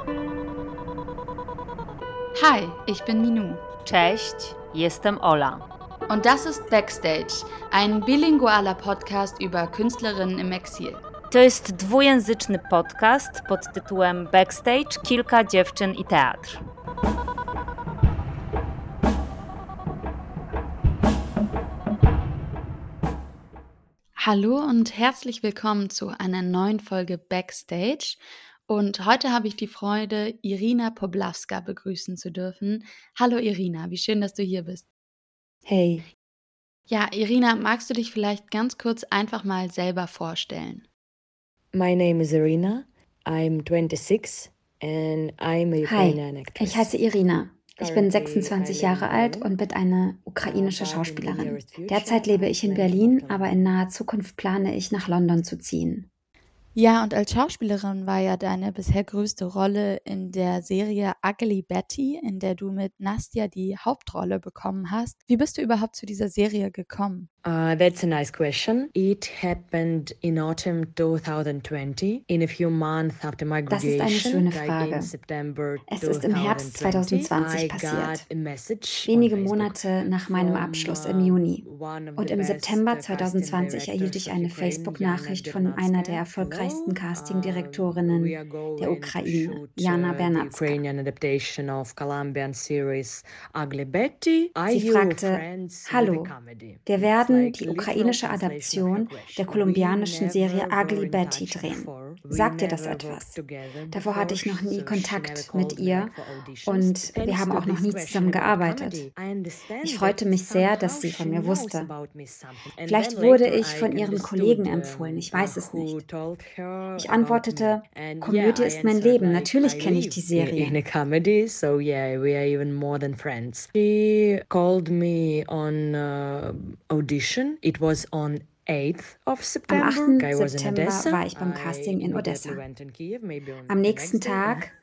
Hi, ich bin Minou Cześć, jestem Ola. und das ist Backstage, ein bilingualer Podcast über Künstlerinnen im Exil. To jest dwujęzyczny podcast pod tytułem Backstage, kilka dziewczyn i teatr. Hallo und herzlich willkommen zu einer neuen Folge Backstage. Und heute habe ich die Freude, Irina Poplawska begrüßen zu dürfen. Hallo Irina, wie schön, dass du hier bist. Hey, Ja, Irina, magst du dich vielleicht ganz kurz einfach mal selber vorstellen? my name is Irina. I'm 26 and I'm a Ukrainian actress. Ich heiße Irina. Ich bin 26 Jahre alt und bin eine ukrainische Schauspielerin. Derzeit lebe ich in Berlin, aber in naher Zukunft plane ich, nach London zu ziehen. Ja, und als Schauspielerin war ja deine bisher größte Rolle in der Serie Ugly Betty, in der du mit Nastja die Hauptrolle bekommen hast. Wie bist du überhaupt zu dieser Serie gekommen? That's a nice question. It happened in autumn 2020, in a few months after my Das ist graduation. eine schöne Like Frage. in September Es ist im Herbst 2020 I got passiert. a message Wenige on Facebook Monate nach meinem from, Abschluss im Juni. one of Und the im best, September casting 2020 erhielt directors ich of eine Ukraine, Facebook-Nachricht Jana von einer der Bernatska. erfolgreichsten We Casting-Direktorinnen are going der to Ukraine, shoot Jana the Bernatska. Ukrainian adaptation of Colombian series Ugly Betty. Are Sie you fragte, friends with a Hallo, comedy? wir It's werden like die literal ukrainische translation of her Adaption question. der We kolumbianischen Serie never were Ugly in Betty touch drehen. before. We Sagt dir das never etwas? worked together Davor hatte before, ich noch nie so she never Kontakt mit called me ihr like for auditions. und wir Thanks haben to auch noch this nie question zusammen about gearbeitet. comedy, I understand Ich that freute mich sehr, dass somehow sie von she mir knows wusste. about me something. And Vielleicht then wurde later ich I von ihren Kollegen understood empfohlen, ich weiß es who nicht. told her Ich about me. antwortete, And Komödie yeah, I ist mein answered Leben, like natürlich I kenne ich die live in Serie. a comedy, so yeah, we are even more than friends. She called me on audition. It was on 8th of Am September. 8. I was in September Odessa. war ich beim I Casting in Odessa. immediately went in Kiev, maybe on Am the nächsten next day.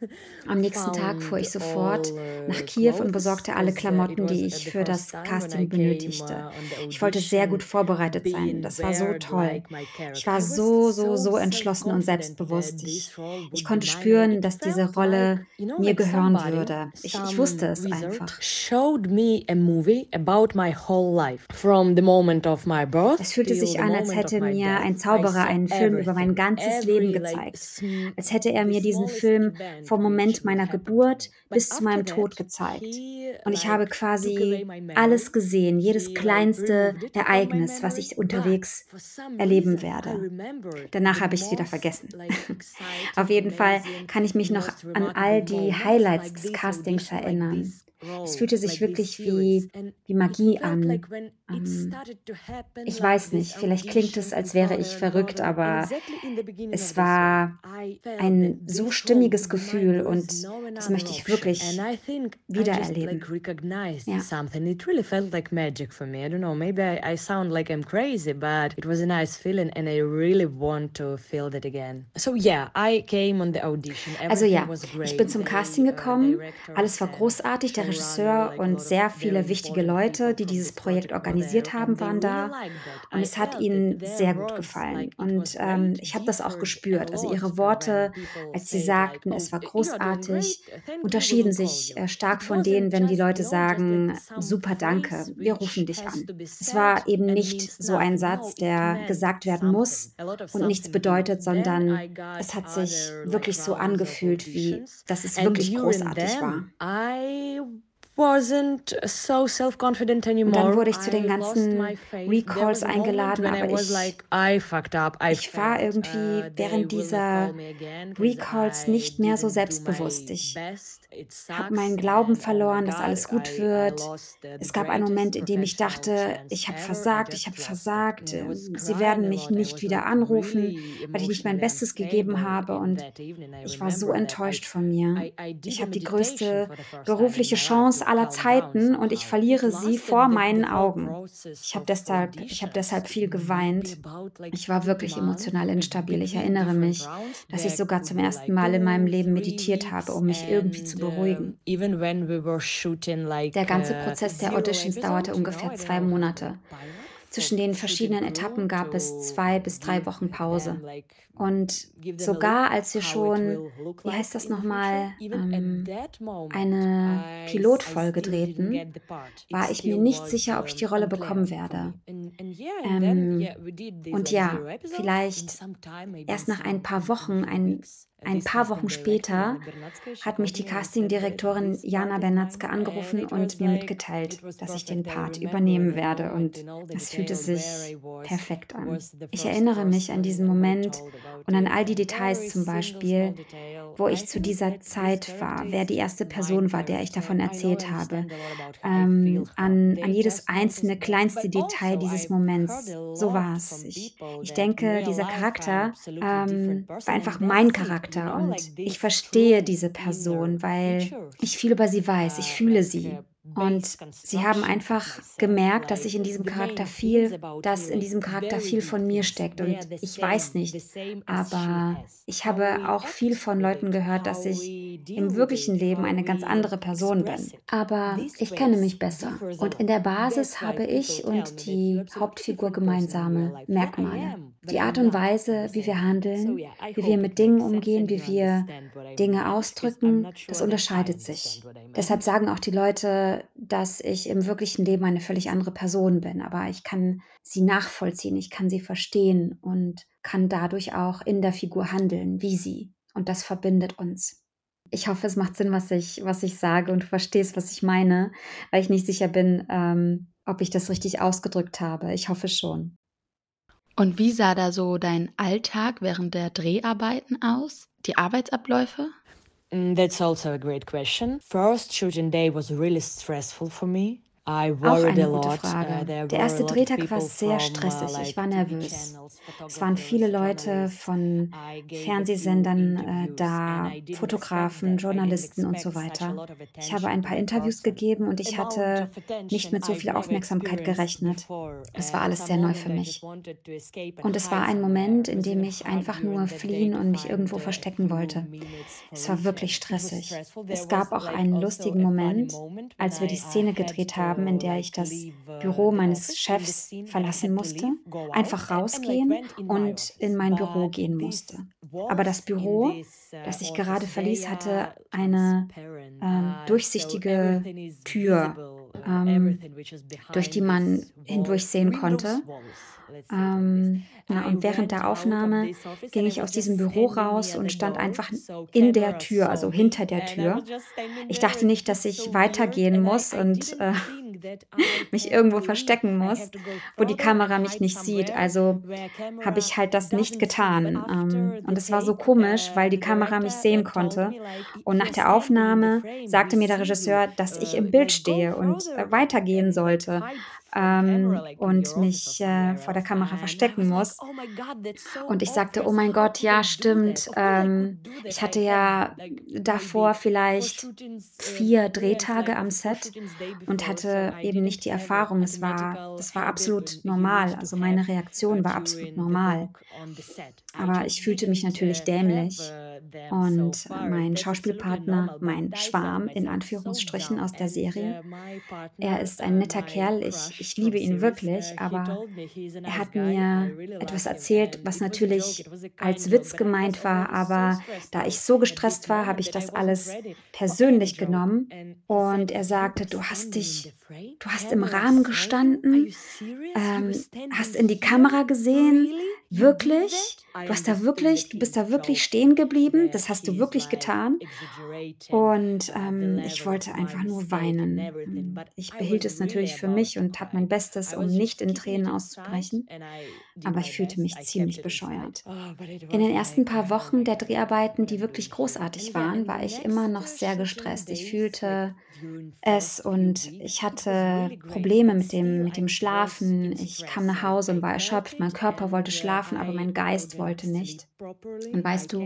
Tag fuhr ich sofort Found nach Kiew und clothes, besorgte alle 'cause, Klamotten, it die was ich the für das first time when I Casting came, benötigte. on the Ich wollte sehr gut audition, vorbereitet sein. being Das war so bared toll. like my Ich character. war I was so entschlossen und self-confident selbstbewusst. that this role Ich would konnte be mine, and spüren, it dass diese felt Rolle like, you know, mir like gehören somebody, würde. Ich some wusste es wizard einfach. showed me a movie about my whole life. From the moment of my birth Es fühlte till sich the an, als moment of hätte my mir death. ein I Zauberer saw einen Film über mein everything, ganzes Leben every like gezeigt. Als hätte er mir diesen Film vom Moment meiner Geburt bis zu meinem Tod gezeigt. Und ich habe quasi alles gesehen, jedes kleinste Ereignis, was ich unterwegs erleben werde. Danach habe ich es wieder vergessen. Auf jeden Fall kann ich mich noch an all die Highlights des Castings erinnern. Es fühlte sich wirklich wie Magie an. Ich weiß nicht, vielleicht klingt es, als wäre ich verrückt, aber es war ein so stimmiges Gefühl und das möchte ich wirklich wiedererleben. Ja. Something. It really felt like magic for me. I don't know, maybe I sound like I'm crazy, but it was a nice feeling and I really want to feel that again. So yeah, I came on the audition. Also ja, Everything was great. ich bin zum Casting gekommen. Alles war großartig. Der Regisseur und sehr viele wichtige Leute, die dieses Projekt organisiert haben, waren da. Und es hat ihnen sehr gut gefallen. Und ich habe das auch gespürt. Also ihre Worte, als sie sagten, es war großartig, unterschieden sich stark von denen, wenn die Leute sagen, super, danke, wir rufen dich an. Es war eben nicht so ein Satz, der gesagt werden muss und nichts bedeutet, sondern es hat sich wirklich so angefühlt, wie dass es wirklich großartig war. Wasn't so self-confident Und anymore. dann wurde ich zu den ganzen Recalls eingeladen, aber ich war irgendwie während dieser Recalls nicht mehr so selbstbewusst. Ich habe meinen Glauben verloren, dass alles gut wird. Es gab einen Moment, in dem ich dachte, ich habe versagt. Sie werden mich nicht wieder anrufen, weil ich nicht mein Bestes gegeben habe. Und ich war so enttäuscht von mir. Ich habe die größte berufliche Chance aller Zeiten und ich verliere sie vor meinen Augen. Ich habe deshalb viel geweint. Ich war wirklich emotional instabil. Ich erinnere mich, dass ich sogar zum ersten Mal in meinem Leben meditiert habe, um mich irgendwie zu beruhigen. Der ganze Prozess der Auditions dauerte ungefähr 2 Monate. Zwischen den verschiedenen Etappen gab es 2 bis 3 Wochen Pause. Und sogar als wir schon, wie heißt das nochmal, eine Pilotfolge drehten, war ich mir nicht sicher, ob ich die Rolle bekommen werde. Und ja, vielleicht erst nach ein paar Wochen später hat mich die Castingdirektorin Jana Bernatzka angerufen und mir mitgeteilt, dass ich den Part übernehmen werde. Und es fühlte sich perfekt an. Ich erinnere mich an diesen Moment und an all die Details zum Beispiel, wo ich zu dieser Zeit war, wer die erste Person war, der ich davon erzählt habe, an jedes einzelne kleinste Detail dieses Moments. So war es. Ich denke, dieser Charakter war einfach mein Charakter und ich verstehe diese Person, weil ich viel über sie weiß, ich fühle sie. Und sie haben einfach gemerkt, dass in diesem Charakter viel von mir steckt. Und ich weiß nicht, aber ich habe auch viel von Leuten gehört, dass ich im wirklichen Leben eine ganz andere Person bin. Aber ich kenne mich besser. Und in der Basis habe ich und die Hauptfigur gemeinsame Merkmale. Die Art und Weise, wie wir handeln, wie wir mit Dingen umgehen, wie wir Dinge ausdrücken, das unterscheidet sich. Deshalb sagen auch die Leute, dass ich im wirklichen Leben eine völlig andere Person bin. Aber ich kann sie nachvollziehen, ich kann sie verstehen und kann dadurch auch in der Figur handeln, wie sie. Und das verbindet uns. Ich hoffe, es macht Sinn, was ich sage und du verstehst, was ich meine, weil ich nicht sicher bin, ob ich das richtig ausgedrückt habe. Ich hoffe schon. Und wie sah da so dein Alltag während der Dreharbeiten aus? Die Arbeitsabläufe? That's also a great question. First shooting day was really stressful for me. Auch eine gute Frage. Der erste Drehtag war sehr stressig. Ich war nervös. Es waren viele Leute von Fernsehsendern da, Fotografen, Journalisten und so weiter. Ich habe ein paar Interviews gegeben und ich hatte nicht mit so viel Aufmerksamkeit gerechnet. Es war alles sehr neu für mich. Und es war ein Moment, in dem ich einfach nur fliehen und mich irgendwo verstecken wollte. Es war wirklich stressig. Es gab auch einen lustigen Moment, als wir die Szene gedreht haben, in der ich das Büro meines Chefs verlassen musste, einfach rausgehen und in mein Büro gehen musste. Aber das Büro, das ich gerade verließ, hatte eine durchsichtige Tür, durch die man hindurchsehen konnte. Und während der Aufnahme ging ich aus diesem Büro raus und stand einfach in der Tür, also hinter der Tür. Ich dachte nicht, dass ich weitergehen muss und mich irgendwo verstecken muss, wo die Kamera mich nicht sieht. Also habe ich halt das nicht getan. Und es war so komisch, weil die Kamera mich sehen konnte. Und nach der Aufnahme sagte mir der Regisseur, dass ich im Bild stehe und weitergehen sollte. Und mich vor der Kamera verstecken muss. Und ich sagte, oh mein Gott, ja, stimmt. Ich hatte ja davor vielleicht 4 Drehtage am Set und hatte eben nicht die Erfahrung. Das war absolut normal. Also meine Reaktion war absolut normal. Aber ich fühlte mich natürlich dämlich. Und mein Schauspielpartner, mein Schwarm in Anführungsstrichen aus der Serie, er ist ein netter Kerl. Ich liebe ihn wirklich, aber er hat mir etwas erzählt, was natürlich als Witz gemeint war, aber da ich so gestresst war, habe ich das alles persönlich genommen und er sagte, du hast im Rahmen gestanden, hast in die Kamera gesehen, wirklich? Du bist da wirklich stehen geblieben? Das hast du wirklich getan? Und ich wollte einfach nur weinen. Ich behielt es natürlich für mich und tat mein Bestes, um nicht in Tränen auszubrechen. Aber ich fühlte mich ziemlich bescheuert. In den ersten paar Wochen der Dreharbeiten, die wirklich großartig waren, war ich immer noch sehr gestresst. Ich fühlte es und ich hatte Probleme mit dem Schlafen. Ich kam nach Hause und war erschöpft. Mein Körper wollte schlafen, aber mein Geist wollte nicht. Und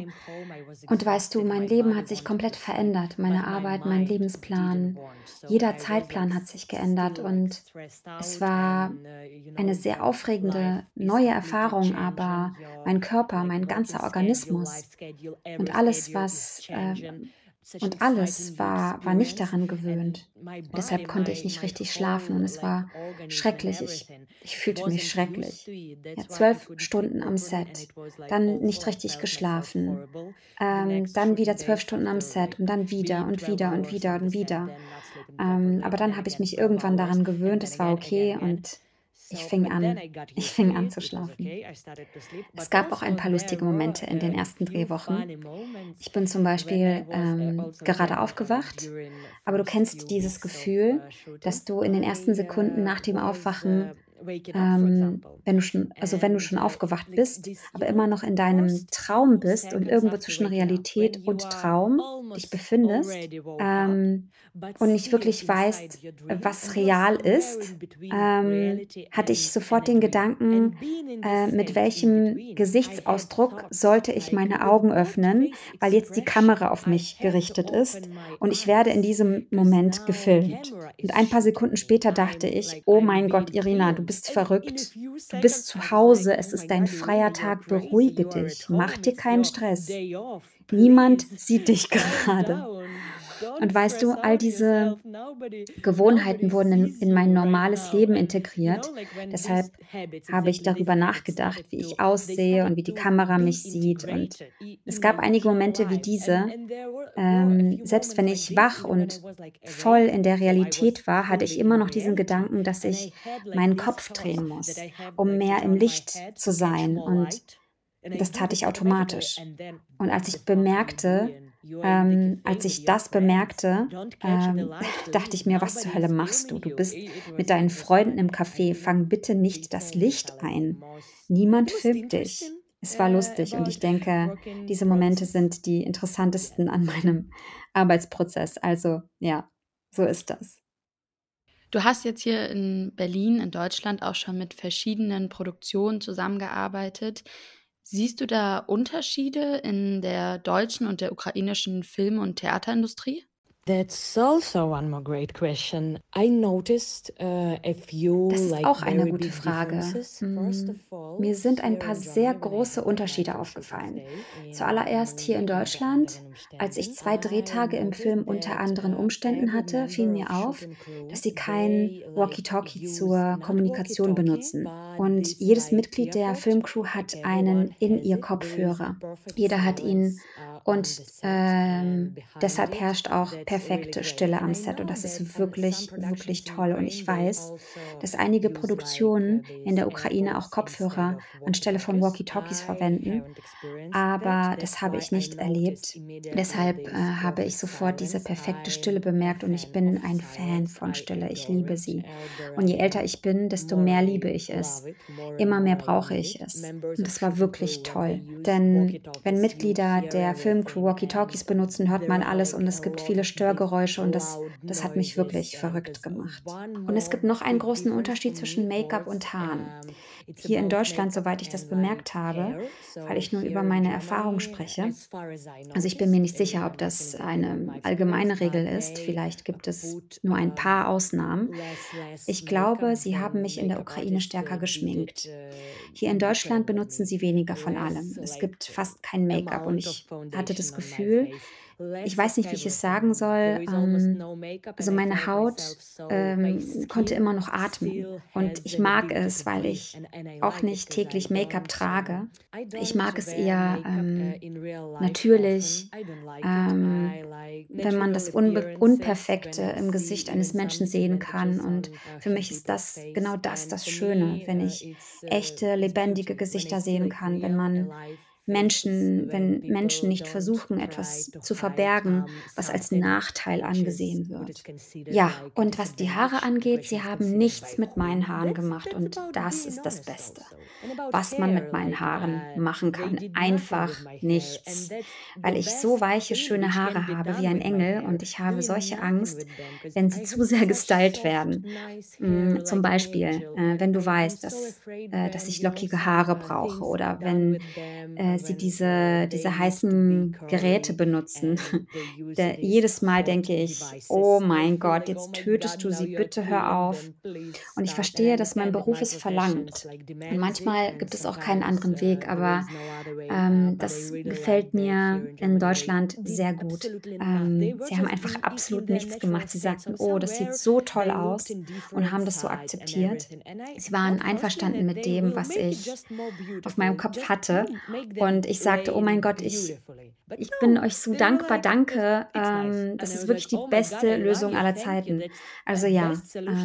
weißt du, mein Leben hat sich komplett verändert. Meine Arbeit, mein Lebensplan, jeder Zeitplan hat sich geändert und es war eine sehr aufregende neue Erfahrung, aber mein Körper, mein ganzer Organismus und alles, was Und alles war nicht daran gewöhnt. Deshalb konnte ich nicht richtig schlafen und es war schrecklich. Ich fühlte mich schrecklich. Ja, 12 Stunden am Set, dann nicht richtig geschlafen, dann wieder 12 Stunden am Set und dann wieder und wieder und wieder und wieder. Aber dann habe ich mich irgendwann daran gewöhnt, es war okay und ich fing an ich fing an zu schlafen. Es gab auch ein paar lustige Momente in den ersten Drehwochen. Ich bin zum Beispiel, gerade aufgewacht, aber du kennst dieses Gefühl, dass du in den ersten Sekunden nach dem Aufwachen, wenn du schon aufgewacht bist, aber immer noch in deinem Traum bist und irgendwo zwischen Realität und Traum dich befindest, und nicht wirklich weißt, was real ist, hatte ich sofort den Gedanken, mit welchem Gesichtsausdruck sollte ich meine Augen öffnen, weil jetzt die Kamera auf mich gerichtet ist und ich werde in diesem Moment gefilmt. Und ein paar Sekunden später dachte ich: „Oh mein Gott, Irina, du bist verrückt. Du bist zu Hause, es ist dein freier Tag, beruhige dich, mach dir keinen Stress. Niemand sieht dich gerade.“ Und weißt du, all diese Gewohnheiten wurden in mein normales Leben integriert. Deshalb habe ich darüber nachgedacht, wie ich aussehe und wie die Kamera mich sieht. Und es gab einige Momente wie diese. Selbst wenn ich wach und voll in der Realität war, hatte ich immer noch diesen Gedanken, dass ich meinen Kopf drehen muss, um mehr im Licht zu sein. Und das tat ich automatisch. Und als ich das bemerkte, dachte ich mir: „Was zur Hölle machst du? Du bist mit deinen Freunden im Café. Fang bitte nicht das Licht ein. Niemand filmt dich.“ Es war lustig und ich denke, diese Momente sind die interessantesten an meinem Arbeitsprozess. Also, ja, so ist das. Du hast jetzt hier in Berlin, in Deutschland auch schon mit verschiedenen Produktionen zusammengearbeitet. Siehst du da Unterschiede in der deutschen und der ukrainischen Film und Theaterindustrie? That's also one more great question. I noticed a few Das ist auch eine very gute big Frage. differences. First of Mir all, sind ein here paar in sehr Germany, when I große had my Unterschiede actual shooting aufgefallen. stay in Zuallererst hier in Berlin at the Art Deutschland, and als ich Umständen, 2 I Drehtage im Film noticed unter that anderen Umständen every hatte, fiel member mir of auf, shooting crew, dass sie kein they Walkie-Talkie use zur not Kommunikation walkie-talkie, benutzen. but Und this jedes Mitglied der earpod, Filmcrew like hat everyone einen has it. There is a In-Ear-Kopfhörer. perfect Jeder hat ihn silence on und, the set and behind deshalb it. herrscht auch That's really perfekte great. Stille And am I Set und know das that ist some wirklich, wirklich productions in toll. Und ich Ukraine, they weiß, also dass einige use like Produktionen in these der Ukraine auch AirPods instead Kopfhörer of anstelle von walkie-talkies. Walkie-Talkies I verwenden, haven't experienced that. aber das That's habe why ich I nicht noticed erlebt. immediately Deshalb, this habe perfect ich sofort diese silence. perfekte Stille I'm a bemerkt und ich fan of bin ein Fan silence. von I Stille. Ich adore liebe it. sie. Elder Und je I älter am, ich bin, desto more mehr liebe I ich es. love it. More and Immer mehr more I brauche need ich it. es. Members Und of das war shooting wirklich crew, when they toll. use Denn wenn walkie-talkies, you Mitglieder hear der Filmcrew everything and Walkie-Talkies benutzen, hört man there are alles und like es a gibt lot viele of these Störgeräusche und loud das hat mich noises. wirklich And verrückt there's gemacht. one Und es more gibt noch einen big großen difference for Unterschied me zwischen Make-up was und Haaren. it's Hier in about Deutschland, makeup soweit ich das and like bemerkt habe, hair. weil So ich nur über here in meine Erfahrung Germany, spreche. as far as I Also ich bin mir noticed, nicht sicher, ob I'm not das saying that about eine my experience, allgemeine Regel but ist. they Vielleicht gibt es put nur ein paar Ausnahmen. less Ich makeup glaube, sie haben than mich in der makeup Ukraine artists stärker did it geschminkt. Hier in Deutschland better than benutzen me. sie weniger von Less allem. Es like gibt fast kein Make-up und amount of ich hatte das foundation on my Gefühl, face, ich less weiß of nicht, wie ich es sagen everything. There soll, is almost no makeup, also and I meine felt Haut myself so. My konnte skin immer noch atmen. still Und has ich an mag ability to es, weil breathe, ich and I auch like it nicht because täglich Make-up trage. I Ich don't mag es wear eher makeup in real life often. natürlich, I don't like it. I ähm, like wenn man natural das appearances when Unperfekte I im see Gesicht even eines Menschen some sehen kann. advantages Und on für few mich ist people's das face. genau And das for Schöne, me, wenn ich echte, it's lebendige beauty when I Gesichter see sehen like kann, real alive faces, when Wenn Menschen people nicht don't versuchen, try etwas to zu hide verbergen, was als something Nachteil angesehen which is wird. considered Ja, like a und was die Haare disadvantage. The angeht, question sie is haben considered nichts by mit meinen whom. Haaren gemacht That's und about das being ist das honest Beste, also. And about was man hair, mit meinen like Haaren machen they kann. did nothing with Einfach my hair, and nichts, that's the weil ich so best weiche, thing schöne which can Haare be habe wie done ein with my Engel hair, und ich habe doing solche nothing Angst, with them, because wenn sie I zu have sehr such gestylt soft werden. nice hair Zum like an Beispiel, angel, and wenn du I'm weißt, so afraid dass when ich lockige some Haare brauche things are oder done wenn with them sie diese heißen Geräte benutzen. Jedes Mal denke ich, oh mein Gott, jetzt tötest du sie, bitte hör auf. Und ich verstehe, dass mein Beruf es verlangt. Und manchmal gibt es auch keinen anderen Weg, aber das gefällt mir in Deutschland sehr gut. Sie haben einfach absolut nichts gemacht. Sie sagten, oh, das sieht so toll aus und haben das so akzeptiert. Sie waren einverstanden mit dem, was ich auf meinem Kopf hatte. Und ich sagte, oh mein Gott, ich bin euch so dankbar, danke. Das ist wirklich die beste Lösung aller Zeiten. Also ja,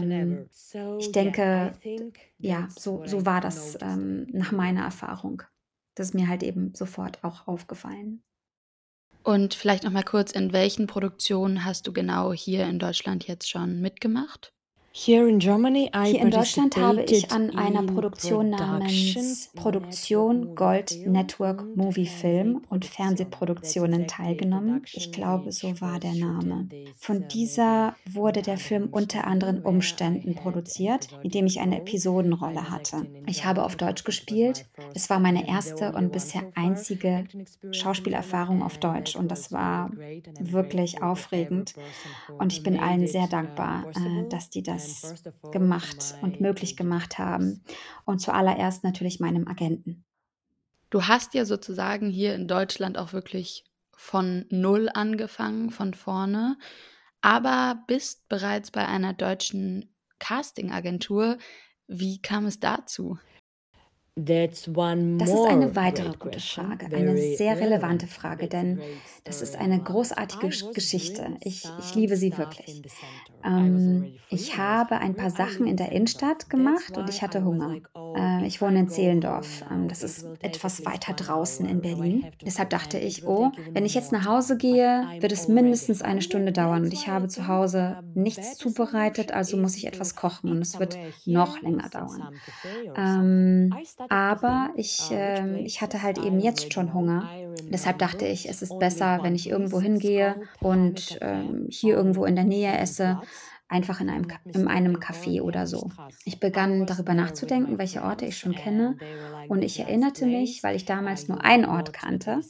ich denke, ja, so war das nach meiner Erfahrung. Das ist mir halt eben sofort auch aufgefallen. Und vielleicht noch mal kurz, in welchen Produktionen hast du genau hier in Deutschland jetzt schon mitgemacht? Hier in Deutschland habe ich an einer Produktion namens Produktion Gold Network Movie Film und Fernsehproduktionen teilgenommen. Ich glaube, so war der Name. Von dieser wurde der Film unter anderen Umständen produziert, in dem ich eine Episodenrolle hatte. Ich habe auf Deutsch gespielt. Es war meine erste und bisher einzige Schauspielerfahrung auf Deutsch und das war wirklich aufregend. Und ich bin allen sehr dankbar, dass die das gemacht und möglich gemacht haben. Und zuallererst natürlich meinem Agenten. Du hast ja sozusagen hier in Deutschland auch wirklich von null angefangen, von vorne, aber bist bereits bei einer deutschen Castingagentur. Wie kam es dazu? Das ist eine weitere gute Frage, eine sehr relevante Frage, denn das ist eine großartige Geschichte. Ich liebe sie wirklich. Ich habe ein paar Sachen in der Innenstadt gemacht und ich hatte Hunger. Ich wohne in Zehlendorf. Das ist etwas weiter draußen in Berlin. Deshalb dachte ich, oh, wenn ich jetzt nach Hause gehe, wird es mindestens eine Stunde dauern und ich habe zu Hause nichts zubereitet, also muss ich etwas kochen und es wird noch länger dauern. Aber ich hatte halt eben jetzt schon Hunger. Deshalb dachte ich, es ist besser, wenn ich irgendwo hingehe und hier irgendwo in der Nähe esse, einfach in einem Café oder so. Ich begann darüber nachzudenken, welche Orte ich schon kenne. Und ich erinnerte mich, weil ich damals nur einen Ort kannte.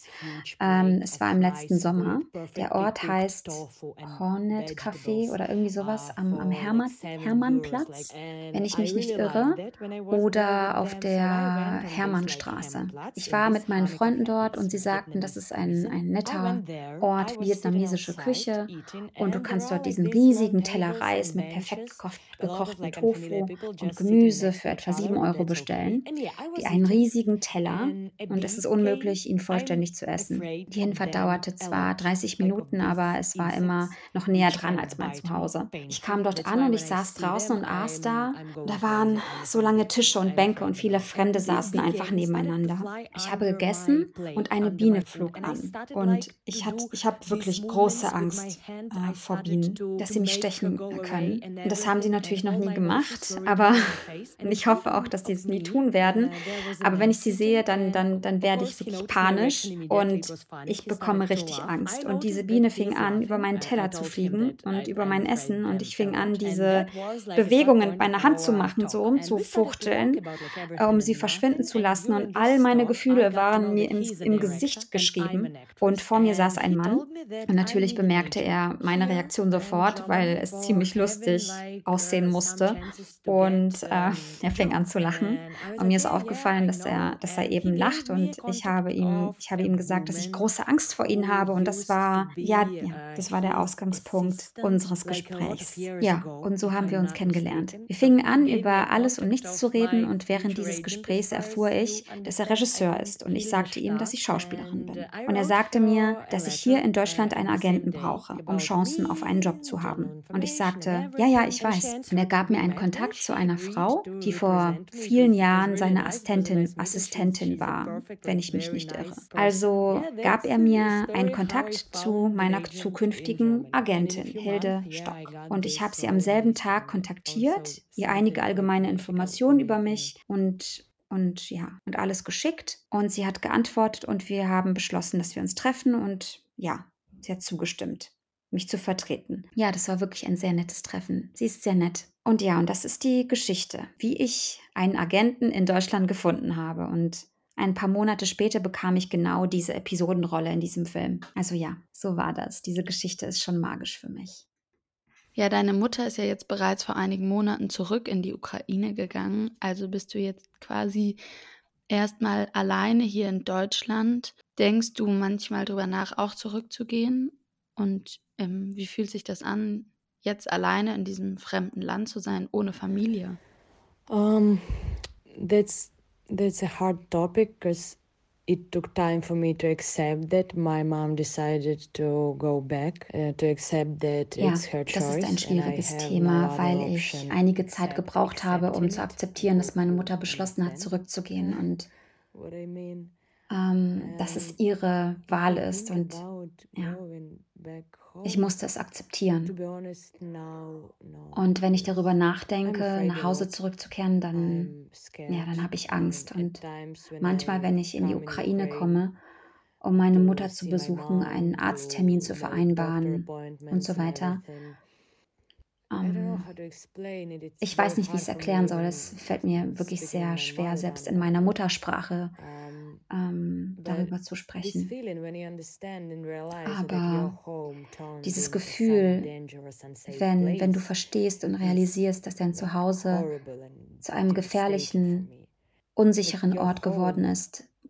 Es war im letzten Sommer. Der Ort heißt Hornet Café oder irgendwie sowas am Hermannplatz, wenn ich mich nicht irre, oder auf der Hermannstraße. Ich war mit meinen Freunden dort und sie sagten, das ist ein netter Ort, vietnamesische Küche und du kannst dort diesen riesigen Teller Reis mit perfekt gekochten Tofu und Gemüse für etwa 7 € bestellen. Einen riesigen Teller und es ist unmöglich, ihn vollständig zu essen. Die Hinfahrt dauerte zwar 30 Minuten, aber es war immer noch näher dran als mein Zuhause. Ich kam dort an und ich saß draußen und aß da. Da waren so lange Tische und Bänke und viele Fremde saßen einfach nebeneinander. Ich habe gegessen und eine Biene flog an. Und ich habe wirklich große Angst vor Bienen, dass sie mich stechen können. Und das haben sie natürlich noch nie gemacht, aber ich hoffe auch, dass sie es nie tun werden. Aber wenn ich sie sehe, dann werde ich wirklich panisch und ich bekomme richtig Angst. Und diese Biene fing an, über meinen Teller zu fliegen und über mein Essen. Und ich fing an, diese Bewegungen mit meiner Hand zu machen, so rumzufuchteln, um sie verschwinden zu lassen. Und all meine Gefühle waren mir im Gesicht geschrieben. Und vor mir saß ein Mann. Und natürlich bemerkte er meine Reaktion sofort, weil es ziemlich lustig aussehen musste. Und er fing an zu lachen. Und mir ist aufgefallen, dass er eben lacht. Und ich habe ihm gesagt, dass ich große Angst vor ihm habe. Und das war der Ausgangspunkt unseres Gesprächs. Ja, und so haben wir uns kennengelernt. Wir fingen an, über alles und nichts zu reden. Und während dieses Gesprächs erfuhr ich, dass er Regisseur ist. Und ich sagte ihm, dass ich Schauspielerin bin. Und er sagte mir, dass ich hier in Deutschland einen Agenten brauche, um Chancen auf einen Job zu haben. Und ich sagte, ja, ich weiß. Und er gab mir einen Kontakt zu einer Frau, die vor vielen Jahren seine Assistentin war, wenn ich mich nicht irre. Also gab er mir einen Kontakt zu meiner zukünftigen Agentin, Hilde Stock. Und ich habe sie am selben Tag kontaktiert, ihr einige allgemeine Informationen über mich und alles geschickt. Und sie hat geantwortet und wir haben beschlossen, dass wir uns treffen und ja, sie hat zugestimmt, mich zu vertreten. Ja, das war wirklich ein sehr nettes Treffen. Sie ist sehr nett. Und das ist die Geschichte, wie ich einen Agenten in Deutschland gefunden habe. Und ein paar Monate später bekam ich genau diese Episodenrolle in diesem Film. Also ja, so war das. Diese Geschichte ist schon magisch für mich. Ja, deine Mutter ist ja jetzt bereits vor einigen Monaten zurück in die Ukraine gegangen. Also bist du jetzt quasi erstmal alleine hier in Deutschland. Denkst du manchmal drüber nach, auch zurückzugehen? Und wie fühlt sich das an, jetzt alleine in diesem fremden Land zu sein, ohne Familie? That's a hard topic because it took time for me to accept that my mom decided to go back, to accept that Ja, it's her das ist ein choice and I schwieriges have no Thema, other weil ich option einige Zeit except gebraucht habe, um accepting zu it, akzeptieren, dass meine if Mutter you beschlossen hat, understand zurückzugehen und what I mean. dass es And ihre if Wahl I ist. think Und about ja, going back ich home, musste es to akzeptieren. be honest, now, no, Und wenn ich darüber because I'm nachdenke, afraid nach a Hause lot. zurückzukehren, dann, I'm ja, dann scared. habe ich And Angst. at Und times when manchmal, I wenn ich in die come in Ukraine Ukraine komme, um meine to Mutter zu see my besuchen, einen mom, Arzttermin to zu make doctor vereinbaren und appointments so and weiter, everything. I don't know ähm, how to explain it. It's ich very weiß nicht, wie ich hard es for me erklären soll. Es even fällt mir wirklich speaking in sehr my schwer, mother selbst tongue in meiner about it. Muttersprache But darüber zu this sprechen. feeling when you understand and realize that Aber your home turned dieses into some Gefühl, dangerous, unsafe wenn du place verstehst und is realisierst, dass dein like Zuhause horrible and zu einem devastating for gefährlichen, me. Like unsicheren your Ort geworden home,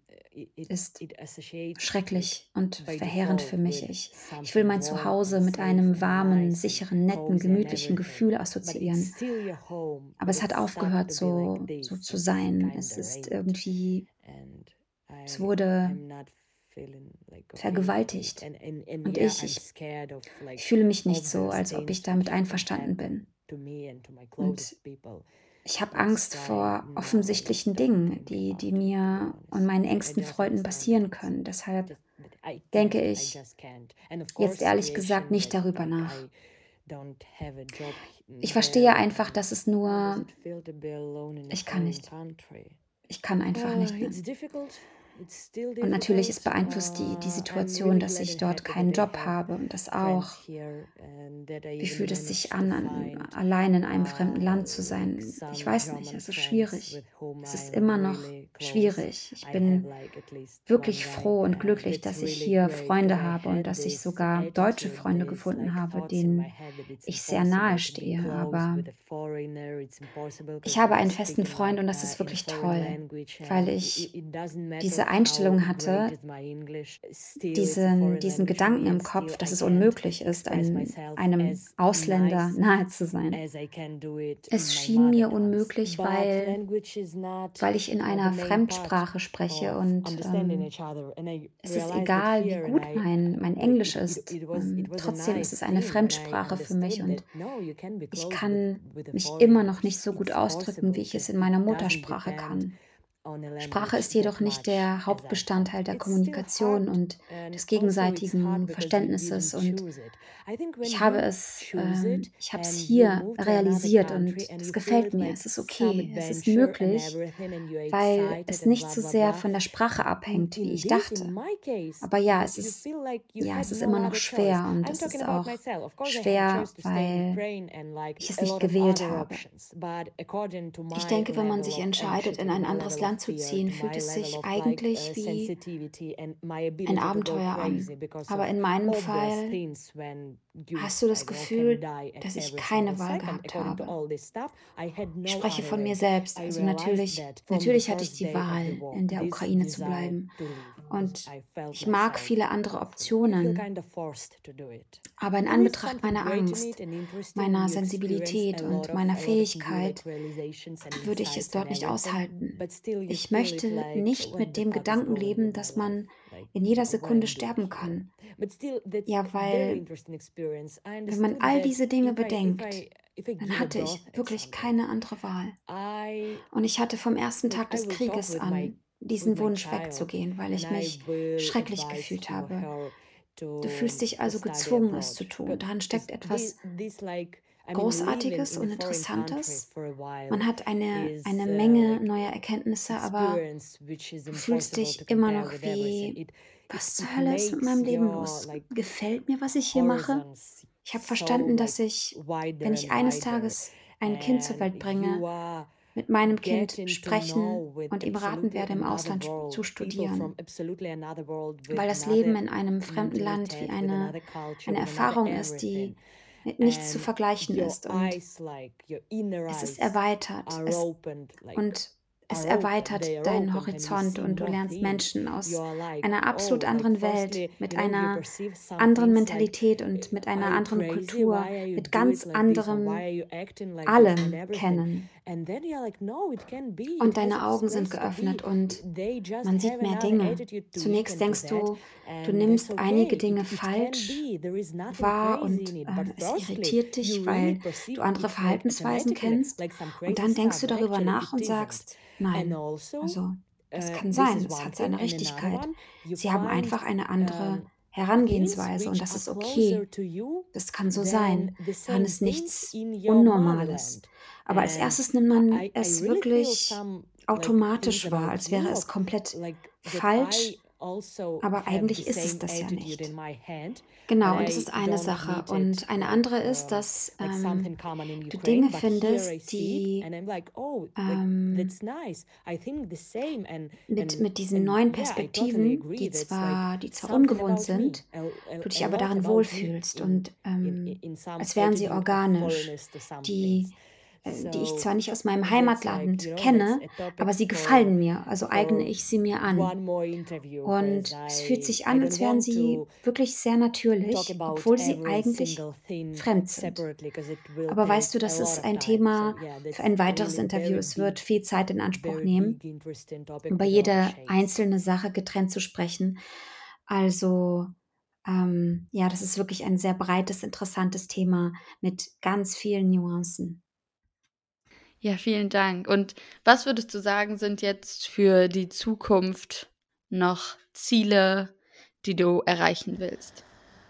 ist it associates like schrecklich und by verheerend für default mich. with Ich will something mein warm Zuhause and mit safe einem and warmen, nice and sicheren, netten, cozy and gemütlichen everything. Gefühl But it's assoziieren. still your home, Aber but es hat it started aufgehört, to be like so this. zu It's sein. kind Es of ist raped, irgendwie, and es wurde I'm not feeling like okay with it. vergewaltigt. And Und yeah, ich, I'm ich, scared of ich like fühle mich nicht all so, those als ob ich things damit which can einverstanden bin. happen to me and to my Und closest people. ich habe That's Angst why vor now I offensichtlichen don't Dingen, think die about it, to be mir und honest. meinen I engsten just Freunden understand passieren that können. Deshalb that I denke can't. I ich just can't. And of jetzt course, ehrlich gesagt situation nicht that darüber like nach. I don't have a job Ich there. verstehe einfach, dass es How does nur, it feel to be alone in a ich kann foreign nicht. country? Ich kann einfach nicht mehr. It's difficult. It's still Und natürlich, es difficult. beeinflusst die I'm Situation, really dass glad ich and dort happy keinen that I Job have habe und das friends auch. here and that I Wie even fühlt es sich managed to an, find allein in einem fremden Land zu like sein? Ich some weiß nicht, German es ist friends schwierig. with whom Es ist I'm immer noch really close. schwierig. Ich I have bin like at least one wirklich guy froh und glücklich, that's dass ich really hier great because Freunde I habe und had dass ich this sogar deutsche attitude, Freunde these gefunden like habe, thoughts in my denen head that it's ich sehr nahe impossible to be stehe. close Aber with a foreigner. It's impossible ich because habe we're einen festen speaking Freund like und das ist in a wirklich foreign toll, language weil and ich it doesn't matter diese how Einstellung great hatte, is my English. Still, it's a foreign diesen language for Gedanken me im and still Kopf, dass I es can't unmöglich ist, express myself einem as Ausländer nice nahe zu sein. as I can do it in Es my schien mother mir tongue. unmöglich, But weil language is not ich in the einer main part Fremdsprache spreche of und understanding each other. And I es ist realized that egal, wie here, and gut mein like Englisch ist. it was a Trotzdem ist nice es eine thing when I Fremdsprache für mich understood und that no, you can be ich close kann with a mich immer foreigner. noch nicht so gut It's ausdrücken, wie possible ich es because in it meiner doesn't Muttersprache depend kann. on a Sprache language ist jedoch that nicht much der as I can. Hauptbestandteil der It's still Kommunikation hard, und and des also it's hard gegenseitigen because we Verständnisses. didn't Und choose it. I think when ich you choose it ich habe es and you hier move to another realisiert und country and es you feel gefällt it mir. like Es ist some okay, es ist adventure and möglich, everything and you're weil excited es and nicht blah so blah sehr blah. von der Sprache abhängt, wie In ich this, in dachte. my case, Aber ja, you feel like you ja, had es ist no immer noch other choice. schwer und I'm es talking ist about auch myself. Of course, I had a schwer, choice to stay in weil Ukraine and like ich es a nicht lot of gewählt other habe. options. But according to Ich my denke, wenn man level sich of entscheidet, in anxiety, to ein my anderes level of Land zu fear, ziehen, to fühlt my es level sich of like eigentlich wie sensitivity and my ein ability to go Abenteuer crazy an. because Aber of in meinem obvious Fall things when you, hast du I das don't know, can Gefühl, die at dass ich every single keine Wahl second. gehabt According to habe. all this stuff, I had Ich no spreche other von mir way. selbst. I Also realized that from the natürlich hatte ich first die day of the Wahl, war, in der this Ukraine zu desire bleiben. to leave, because Und I felt ich mag myself viele andere offering. You feel Optionen. kind of forced to do it. Aber in And it's Anbetracht something meiner great in Angst, it and interesting, and meiner you experience Sensibilität a und lot meiner of new like Fähigkeit realizations and würde ich es insights and dort nicht everything. aushalten. But still, you Ich feel it möchte like, nicht what mit the dem fuck is Gedanken going leben, with my dass life? man Like, in jeder what Sekunde I'm doing sterben here. kann. But still, that's Ja, a very weil interesting experience. I wenn man understood all that diese Dinge if bedenkt, I dann give a hatte birth ich at wirklich something, keine andere Wahl. I Und ich hatte vom ersten like Tag I des will talk Krieges an with diesen my Wunsch child wegzugehen, weil and ich I mich will schrecklich advise gefühlt to habe. her Du fühlst dich to also study gezwungen, es abroad. zu tun. Darin steckt etwas This like I mean living Großartiges in a und foreign country Interessantes. for a while Man hat is eine Menge like neuer Erkenntnisse, aber experience which is du fühlst impossible to dich immer compare noch with everything. wie, was zur It Hölle ist mit meinem makes Leben your los? like Gefällt mir, was ich hier mache? horizons Ich habe so verstanden, dass like ich, wider wenn ich and eines wider, Tages ein Kind zur and Welt bringe, you are mit meinem Kind getting to sprechen know with und ihm raten absolutely werde, im another Ausland zu world, people from studieren, absolutely another world with weil das Leben another in einem fremden Land wie mentalität, with another culture, eine with another Erfahrung ist, everything. die mit nichts zu And vergleichen your ist. Und eyes, like your inner es ist eyes, erweitert. are opened, like Und es erweitert they are deinen opened, and you Horizont see und du more lernst things. Menschen You aus are like, einer absolut oh, like anderen Welt, firstly, mit you einer perceive some anderen things like, Mentalität und mit are einer you anderen crazy? Kultur, Why are you mit do it ganz like this? Or why anderem are you acting like this and allem everything? kennen. And then you're like, no, it can be. Und It has deine its Augen sind place to be. geöffnet und They just man have sieht mehr another Dinge. attitude to it Zunächst and to denkst that, du and that's nimmst einige okay. Dinge It can falsch be. There is nothing wahr crazy und in it. But es firstly, irritiert you dich, really weil du perceive andere it like Verhaltensweisen automatically, kennst. like some Und crazy dann denkst stuff, du but darüber actually nach it und isn't. sagst, And nein, also, also es kann this sein, is es one hat thing. seine And another Richtigkeit. one, you Sie haben find einfach eine andere things Herangehensweise und which das are ist closer okay. to you Das kann so than sein. the Daran same ist things nichts in your Unnormales. motherland. Aber als And erstes nimmt man I es really feel wirklich some like things automatisch wahr, about als wäre es Europe, komplett like that falsch, I also aber have the eigentlich ist es same das ja attitude in nicht. my head, but Genau, und das I ist eine don't Sache. meet it Und eine andere ist, dass like something common in du Dinge Ukraine. But here I findest, see it, die and I'm like, oh, like ähm, that's nice. I think the same, mit diesen neuen yeah, I totally Perspektiven, agree. That's like die zwar something ungewohnt about me, sind, du a dich aber lot darin about me wohlfühlst und in some als wären sie attitude of organisch, foreignness to some things. die ich So zwar nicht aus meinem that's like, Heimatland that's kenne, a aber topic sie gefallen mir, also eigne for ich sie mir an. one more interview, because Und es fühlt sich I an, don't als wären want sie to wirklich sehr talk natürlich, about obwohl sie every eigentlich single thing fremd sind. separately, because it will Aber take weißt du, a das lot ist of ein time. So Thema yeah, für that's ein weiteres really Interview. Es wird viel Zeit in Anspruch very big, nehmen, interesting topic über with a lot of jede shades. einzelne Sache getrennt zu sprechen. Also, ja, das ist wirklich ein sehr breites, interessantes Thema mit ganz vielen Nuancen. Ja, vielen Dank. Und was würdest du sagen, sind jetzt für die Zukunft noch Ziele, die du erreichen willst?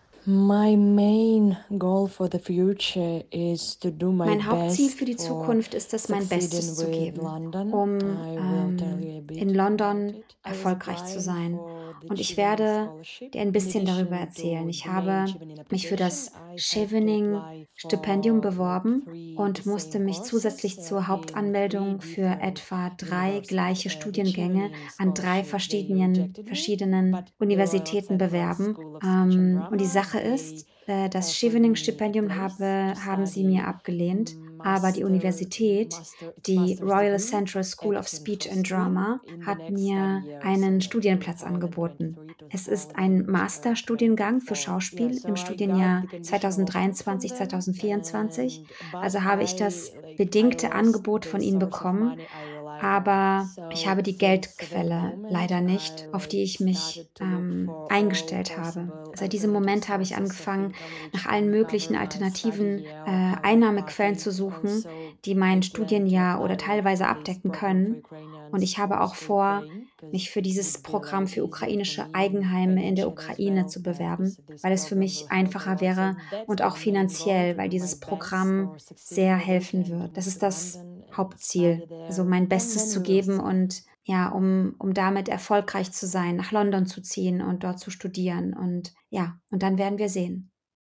My main goal for the future is to do my Mein Hauptziel best für die for Zukunft ist es, mein succeeding Bestes zu with geben, London. um I will tell you a in bit about London it. I was erfolgreich zu applying sein. for the Und ich Chevening werde scholarship. dir ein In bisschen darüber addition erzählen. to Ich the main habe Chevening mich für application, das I had to Chevening apply Stipendium for like beworben 3 und the musste same mich courses zusätzlich zur in 3 Hauptanmeldung für different etwa 3 gleiche universities. The Studiengänge Chevening an 3 scholarship, they rejected me, verschiedenen but the Royal Universitäten Central bewerben. School of Speech and Und die Drama, Sache they ist, das offered me a Chevening-Stipendium place to haben sie mir study abgelehnt, aber die Universität, it's die master's Royal degree, Central School of acting Speech and firstly Drama, in the hat next study mir year, so einen like Studienplatz angeboten. 2023 to Es ist ein Masterstudiengang für 2024. Yeah, Schauspiel im so I got the Studienjahr conditional offer from 2023, them, 2024. but Also habe ich das I bedingte lost Angebot the von ihnen source of bekommen, money I relied on. aber ich So habe die since that Geldquelle moment, leider I nicht, auf die ich mich started to look for all eingestellt habe. possible Seit diesem alternative Moment habe ich sources of angefangen, income which nach allen can cover möglichen my study alternativen year or cover Einnahmequellen partly. zu suchen, Also die I mein plan to Studienjahr oder apply teilweise for this abdecken program for können. Und Ukrainians ich habe who auch stay vor, Ukraine, mich because für it dieses would be like Programm für easier for ukrainische me and Eigenheime in der financially as Ukraine well, zu bewerben, this weil es für program will mich help a einfacher lot. So wäre that's und my auch main goal, finanziell, to weil do my dieses best Programm for succeeding sehr with it helfen and to wird. Das move ist to das London and study Hauptziel, also there. mein And Bestes then zu we will geben see. und ja, um damit erfolgreich zu sein, nach London zu ziehen und dort zu studieren. Und ja, und dann werden wir sehen.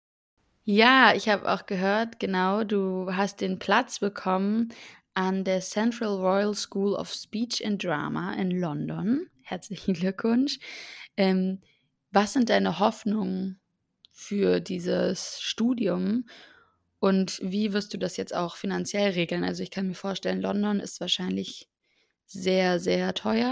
Ja, ich habe auch gehört, genau, du hast den Platz bekommen an der Central Royal School of Speech and Drama in London. Herzlichen Glückwunsch. Was sind deine Hoffnungen für dieses Studium und wie wirst du das jetzt auch finanziell regeln? Also ich kann mir vorstellen, London ist wahrscheinlich sehr, sehr teuer.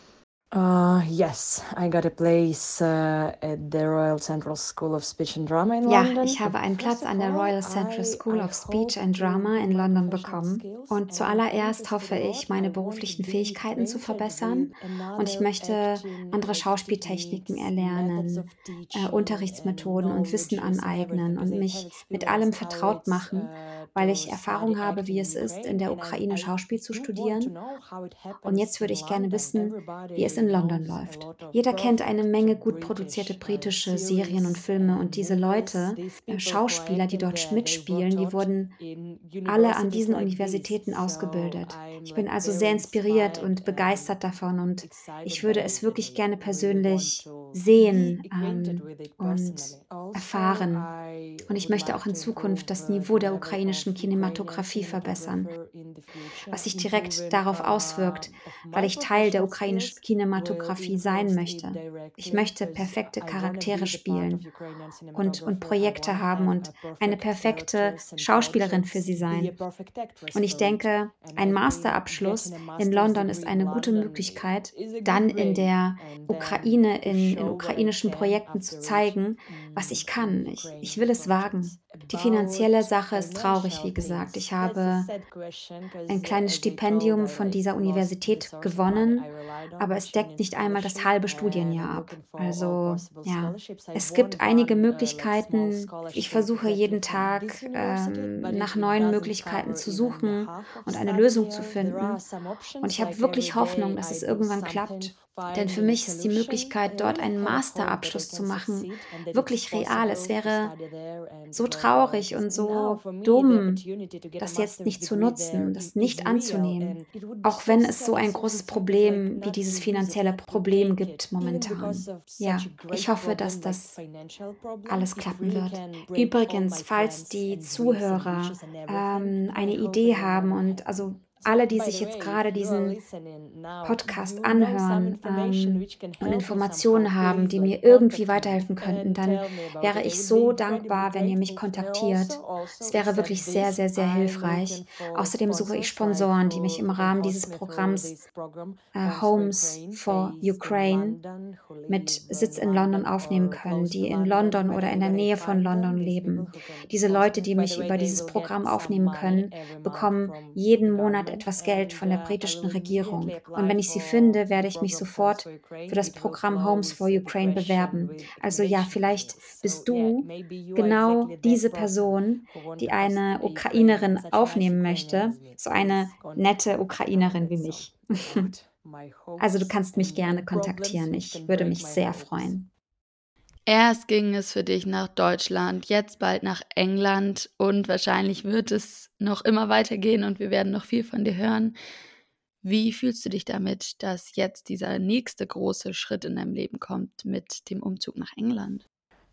Yes, I got a place at the Royal Central School of Speech and Drama in Ja, London. ich habe einen Platz an der Royal Central School of Speech and Drama in London bekommen. Und zuallererst hoffe ich, meine beruflichen Fähigkeiten zu verbessern. Und ich möchte andere Schauspieltechniken erlernen, Unterrichtsmethoden und Wissen aneignen und mich mit allem vertraut machen, weil ich Erfahrung habe, wie es ist, in der Ukraine Schauspiel zu studieren. Und jetzt würde ich gerne wissen, wie es in London läuft. Jeder kennt eine Menge gut produzierte britische Serien und Filme und diese Leute, Schauspieler, die dort mitspielen, die wurden alle an diesen Universitäten ausgebildet. Ich bin also sehr inspiriert und begeistert davon und ich würde es wirklich gerne persönlich sehen und erfahren. Und ich möchte auch in Zukunft das Niveau der ukrainischen Kinematografie verbessern, was sich direkt darauf auswirkt, weil ich Teil der ukrainischen Kinematografie sein möchte. Ich möchte perfekte Charaktere spielen und Projekte haben und eine perfekte Schauspielerin für sie sein. Und ich denke, ein Masterabschluss in London ist eine gute Möglichkeit, dann in der Ukraine, in ukrainischen Projekten zu zeigen, was ich kann. Ich will es wagen. Die finanzielle Sache ist traurig, wie gesagt. Ich habe ein kleines Stipendium von dieser Universität gewonnen, aber es deckt nicht einmal das halbe Studienjahr ab. Also ja, es gibt einige Möglichkeiten. Ich versuche jeden Tag nach neuen Möglichkeiten zu suchen und eine Lösung zu finden. Und ich habe wirklich Hoffnung, dass es irgendwann klappt. Denn für mich ist die Möglichkeit, dort einen Masterabschluss zu machen, wirklich real. Es wäre so traurig und so dumm, das jetzt nicht zu nutzen, das nicht anzunehmen, auch wenn es so ein großes Problem wie dieses finanzielle Problem gibt momentan. Ja, ich hoffe, dass das alles klappen wird. Übrigens, falls die Zuhörer eine Idee haben und also alle, die sich jetzt gerade diesen Podcast anhören und Informationen haben, die mir irgendwie weiterhelfen könnten, dann wäre ich so dankbar, wenn ihr mich kontaktiert. Es wäre wirklich sehr, sehr, sehr hilfreich. Außerdem suche ich Sponsoren, die mich im Rahmen dieses Programms Homes for Ukraine mit Sitz in London aufnehmen können, die in London oder in der Nähe von London leben. Diese Leute, die mich über dieses Programm aufnehmen können, bekommen jeden Monat etwas Geld von der britischen Regierung. Und wenn ich sie finde, werde ich mich sofort für das Programm Homes for Ukraine bewerben. Also ja, vielleicht bist du genau diese Person, die eine Ukrainerin aufnehmen möchte, so eine nette Ukrainerin wie mich. Also du kannst mich gerne kontaktieren. Ich würde mich sehr freuen. Erst ging es für dich nach Deutschland, jetzt bald nach England und wahrscheinlich wird es noch immer weitergehen und wir werden noch viel von dir hören. Wie fühlst du dich damit, dass jetzt dieser nächste große Schritt in deinem Leben kommt mit dem Umzug nach England?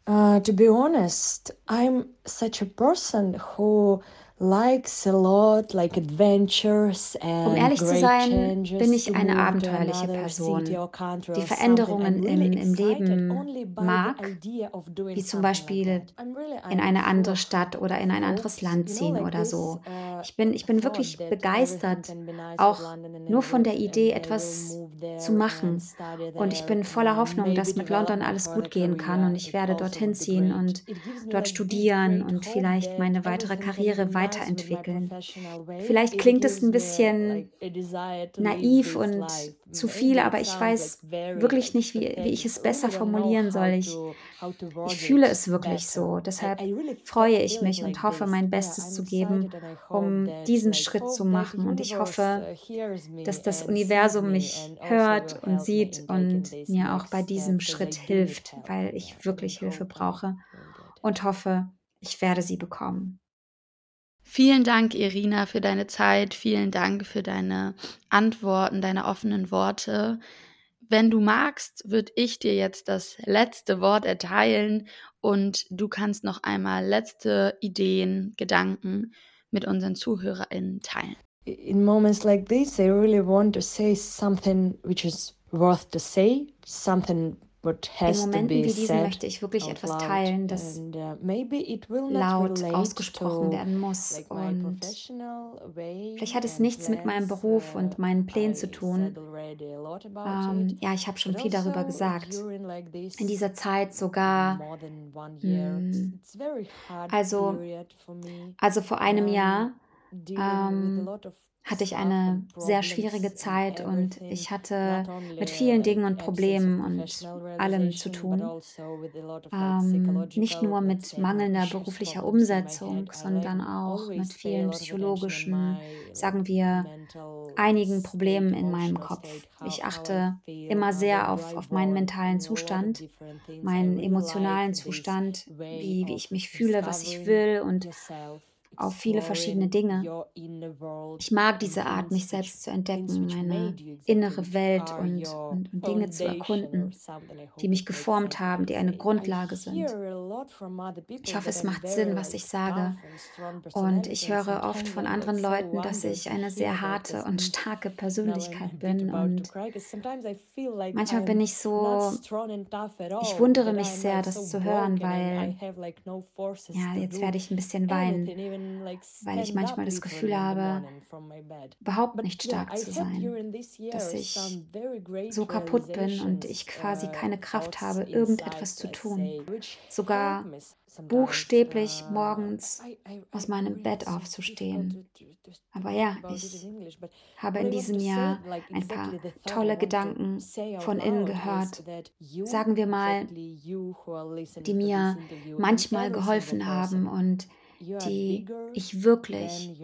To be honest, I'm such a person who likes a lot like adventures Um and ehrlich zu great sein, changes bin ich to eine move to abenteuerliche another Person, city or country die or something. I'm Veränderungen really im excited Leben only by the mag, idea of doing wie zum something like Beispiel that. I'm in eine full andere of Stadt oder in ein anderes hopes, Land you know, ziehen like oder this so. Ich bin thought wirklich that everything begeistert, can be nice with auch London and nur von der and Idee, I will etwas move zu there and machen. study Und ich there bin voller and Hoffnung, maybe dass mit develop London my alles further gut gehen kann und career. ich It werde also dorthin would be ziehen great. und It gives me dort like this studieren great und hope vielleicht that meine weitere everything can be Karriere nice with my weiterentwickeln. professional way. Vielleicht It klingt es gives ein me bisschen like a desire to live naiv this und life. zu viel, Maybe it aber ich sounds like weiß very wirklich like nicht, wie ich pathetic. es I really besser don't know formulieren soll. Ich how to word fühle it es wirklich better. so. Deshalb I really freue ich feel it mich und like hoffe, this. mein Yeah, Bestes I'm zu geben, excited and I hope um that diesen like Schritt zu hope that machen. Und ich universe hoffe, hears dass me das and sees Universum me mich and also will hört und help me sieht in taking und this mir auch next bei step diesem because I Schritt do need hilft, help. weil Yeah, ich and wirklich I Hilfe hope brauche I will get it. und hoffe, ich werde sie bekommen. Vielen Dank, Irina, für deine Zeit. Vielen Dank für deine Antworten, deine offenen Worte. Wenn du magst, würde ich dir jetzt das letzte Wort erteilen und du kannst noch einmal letzte Ideen, Gedanken mit unseren ZuhörerInnen teilen. In moments like this, I really want to say something which is worth to say, something what In has to Momenten be wie diesen said möchte ich wirklich out etwas loud, teilen, das and maybe it will not laut relate ausgesprochen to werden muss. like my Und professional way vielleicht hat es and nichts mit meinem plans. Beruf und meinen Plänen zu I tun. said already a lot about it, Ja, ich habe schon but viel darüber also gesagt. during like this In dieser Zeit sogar, more than 1 year, it's very hard period for me. also vor einem Jahr, Dealing with a lot of hatte ich stuff eine and sehr problems schwierige and Zeit und everything, ich hatte not only mit vielen Dingen like und absence of Problemen und professional allem zu realization, but tun. also with a lot of like Nicht psychological, nur let's mit say, more mangelnder issues, beruflicher problems in my head. Umsetzung, I like sondern auch mit always pay a vielen lot of attention on psychologischen, my like sagen wir, mental einigen state, Problemen in meinem emotional Kopf. state, Ich how I achte feel, immer sehr what do I auf meinen want, mentalen and a lot of Zustand, different things. I meinen really emotionalen like this Zustand, way wie of ich mich fühle, was ich discovering will und yourself. auf viele verschiedene Dinge. Ich mag diese Art, mich selbst zu entdecken, meine innere Welt und Dinge zu erkunden, die mich geformt haben, die eine Grundlage sind. Ich hoffe, es macht Sinn, was ich sage. Und ich höre oft von anderen Leuten, dass ich eine sehr harte und starke Persönlichkeit bin. Und manchmal bin ich so, ich wundere mich sehr, das zu hören, weil, ja, jetzt werde ich ein bisschen weinen, weil ich manchmal das Gefühl habe, überhaupt nicht stark zu sein, dass ich so kaputt bin und ich quasi keine Kraft habe, irgendetwas zu tun. Sogar buchstäblich morgens aus meinem Bett aufzustehen. Aber ja, ich habe in diesem Jahr ein paar tolle Gedanken von innen gehört, sagen wir mal, die mir manchmal geholfen haben und die ich wirklich...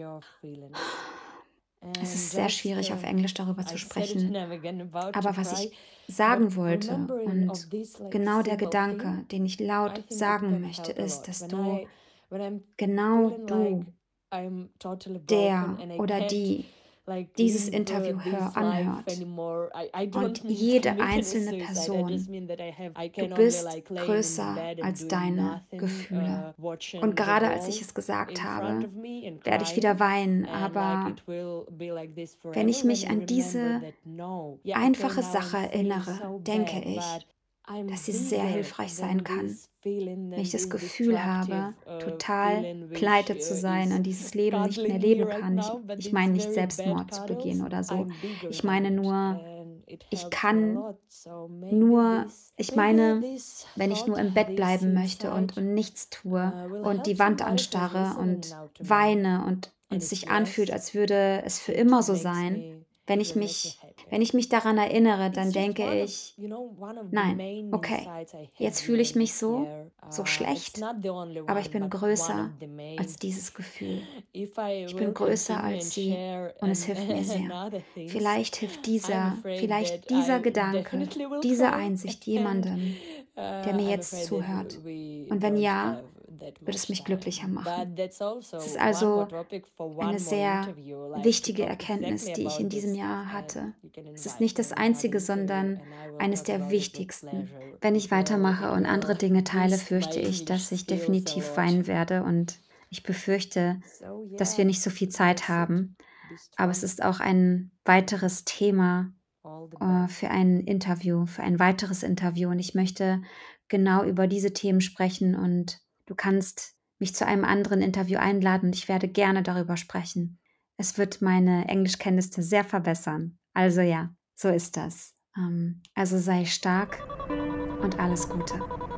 Es ist sehr schwierig, auf Englisch darüber zu sprechen. Aber was ich sagen wollte und genau der Gedanke, den ich laut sagen möchte, ist, dass genau du, der oder die dieses Interview anhört und jede einzelne Person, du bist größer als deine Gefühle. Und gerade als ich es gesagt habe, werde ich wieder weinen, aber wenn ich mich an diese einfache Sache erinnere, denke ich, dass sie sehr hilfreich sein kann. Wenn ich das Gefühl habe, total pleite zu sein und dieses Leben nicht mehr leben kann. Ich meine nicht Selbstmord zu begehen oder so. Ich meine nur, ich meine, wenn ich nur im Bett bleiben möchte und nichts tue und die Wand anstarre und weine und es sich anfühlt, als würde es für immer so sein. Wenn ich mich daran erinnere, dann denke ich, nein, okay, jetzt fühle ich mich so schlecht, aber ich bin größer als dieses Gefühl. Ich bin größer als sie und es hilft mir sehr. Vielleicht hilft dieser Gedanke, diese Einsicht jemandem, der mir jetzt zuhört. Und wenn ja, wird es mich glücklicher machen. Es ist also eine sehr wichtige Erkenntnis, die ich in diesem Jahr hatte. Es ist nicht das Einzige, sondern eines der wichtigsten. Wenn ich weitermache und andere Dinge teile, fürchte ich, dass ich definitiv weinen werde und ich befürchte, dass wir nicht so viel Zeit haben. Aber es ist auch ein weiteres Thema für ein weiteres Interview. Und ich möchte genau über diese Themen sprechen und du kannst mich zu einem anderen Interview einladen und ich werde gerne darüber sprechen. Es wird meine Englischkenntnisse sehr verbessern. Also ja, so ist das. Also sei stark und alles Gute.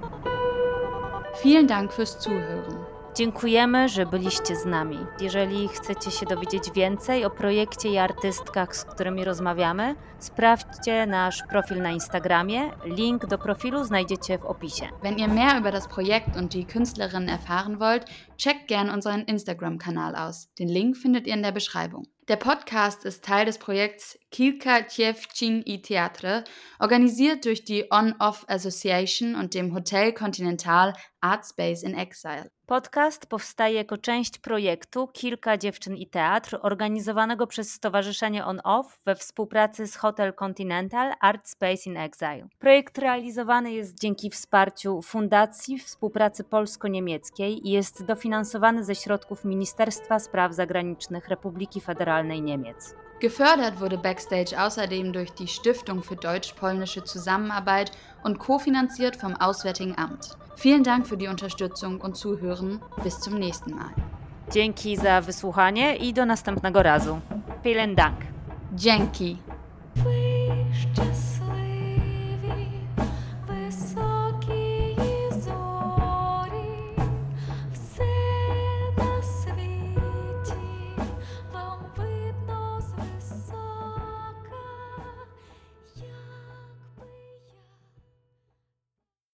Vielen Dank fürs Zuhören. Dziękujemy, że byliście z nami. Jeżeli chcecie się dowiedzieć więcej o projekcie i artystkach, z którymi rozmawiamy, sprawdźcie nasz Profil na Instagramie. Link do Profilu znajdziecie w opisie. Wenn ihr mehr über das Projekt und die Künstlerinnen erfahren wollt, checkt gern unseren Instagram-Kanal aus. Den Link findet ihr in der Beschreibung. Der Podcast ist Teil des Projekts Kilka Dziewczyn i Teatr, organisiert durch die On-Off Association und dem Hotel Continental Art Space in Exile. Podcast powstaje jako część projektu Kilka dziewczyn i teatr, organizowanego przez Stowarzyszenie On-Off we współpracy z Hotel Continental Art Space in Exile. Projekt realizowany jest dzięki wsparciu Fundacji Współpracy Polsko-Niemieckiej i jest dofinansowany ze środków Ministerstwa Spraw Zagranicznych Republiki Federalnej Niemiec. Gefördert wurde Backstage außerdem durch die Stiftung für deutsch-polnische Zusammenarbeit und kofinanziert vom Auswärtigen Amt. Vielen Dank für die Unterstützung und Zuhören. Bis zum nächsten Mal. Dzięki za wysłuchanie i do następnego razu. Vielen Dank. Dzięki.